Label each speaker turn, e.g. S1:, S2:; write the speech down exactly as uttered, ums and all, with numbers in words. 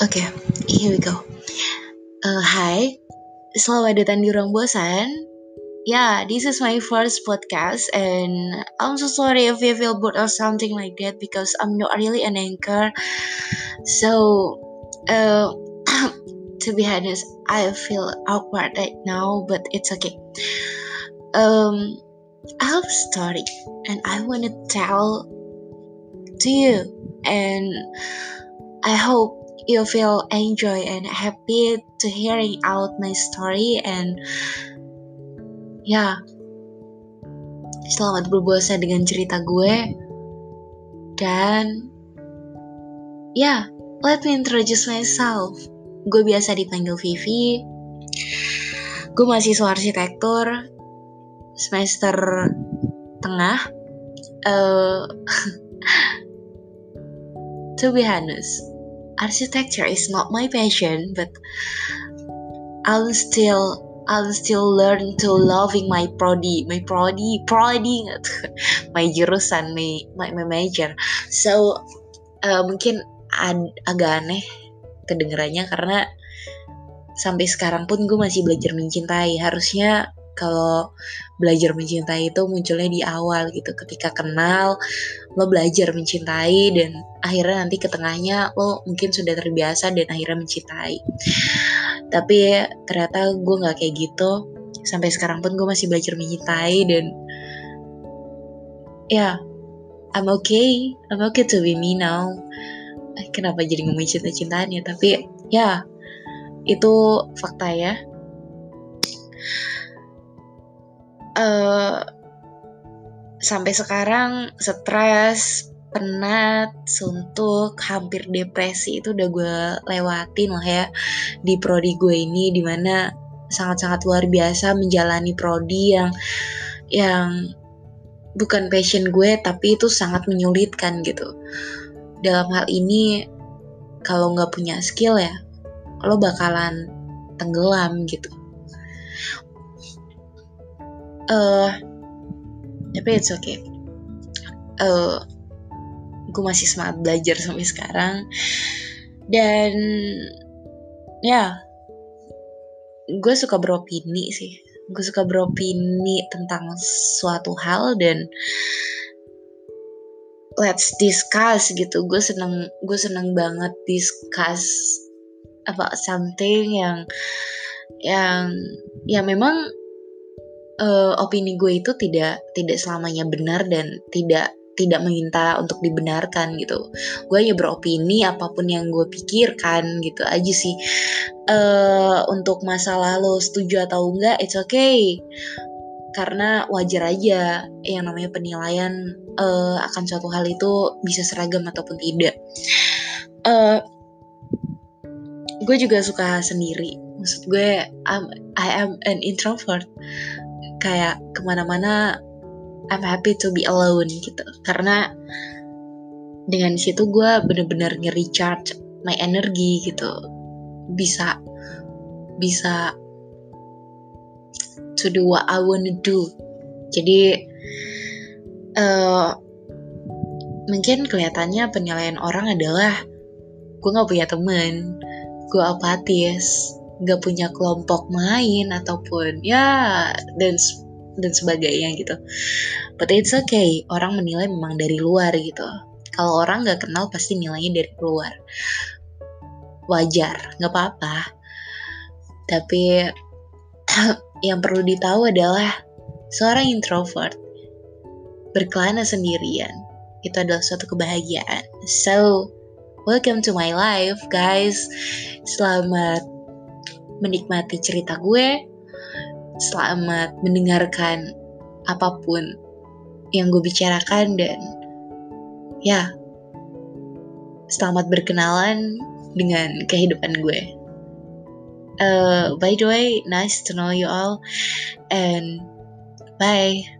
S1: Oke, here we go. Uh, Hai, selamat datang di Ruang Bosan. Yeah, this is my first podcast, and I'm so sorry if you feel bored or something like that because I'm not really an anchor. So, uh, to be honest, I feel awkward right now, but it's okay. Um, I have a story, and I want to tell to you, and I hope you feel enjoy and happy to hearing out my story, and ya, selamat berpuasa dengan cerita gue. Dan ya, let me introduce myself. Gue biasa dipanggil Vivi. Gue mahasiswa arsitektur semester tengah. uh, To be honest, architecture is not my passion, but I'll still I'll still learn to loving my prodi, my prodi, prodi, my jurusan, my my, my major. So uh, mungkin ad, agak aneh kedengarannya karena sampai sekarang pun gue masih belajar mencintai. Harusnya kalau belajar mencintai itu munculnya di awal gitu, ketika kenal lo belajar mencintai, dan akhirnya nanti ke tengahnya lo mungkin sudah terbiasa dan akhirnya mencintai. Tapi ternyata gue gak kayak gitu. Sampai sekarang pun gue masih belajar mencintai, dan ya, yeah, I'm okay I'm okay to be me now. Kenapa jadi ngomongin cinta-cintaan ya? Tapi ya, itu fakta ya. Uh, sampai sekarang stres, penat, suntuk, hampir depresi itu udah gue lewatin lah ya di prodi gue ini, dimana sangat-sangat luar biasa menjalani prodi yang yang bukan passion gue, tapi itu sangat menyulitkan gitu. Dalam hal ini, kalau nggak punya skill ya lo bakalan tenggelam gitu. Uh, tapi it's okay. Uh, gue masih semangat belajar sampai sekarang, dan ya, gue suka beropini sih. Gue suka beropini tentang suatu hal, dan let's discuss gitu. Gue seneng, gue seneng banget discuss about something yang yang ya memang uh, opini gue itu tidak tidak selamanya benar dan tidak tidak meminta untuk dibenarkan gitu. Gue hanya beropini apapun yang gue pikirkan gitu aja sih. Uh, untuk masalah lo setuju atau enggak, it's okay. Karena wajar aja yang namanya penilaian uh, akan suatu hal itu bisa seragam ataupun tidak. Uh, gue juga suka sendiri. Maksud gue, I'm, I am an introvert. Kayak kemana-mana I'm happy to be alone gitu. Karena dengan situ gue bener-bener nge-recharge my energy gitu. Bisa bisa to do what I wanna do. Jadi uh, mungkin kelihatannya penilaian orang adalah gue gak punya temen, gue apatis, gak punya kelompok main ataupun ya dan dan sebagainya gitu. But it's okay, orang menilai memang dari luar gitu. Kalau orang gak kenal pasti nilainya dari luar. Wajar, gak apa-apa. Tapi yang perlu ditahu adalah seorang introvert berkelana sendirian itu adalah suatu kebahagiaan. So, welcome to my life guys. Selamat menikmati cerita gue. Selamat mendengarkan apapun yang gue bicarakan, dan ya, selamat berkenalan dengan kehidupan gue. Uh, by the way, nice to know you all, and bye.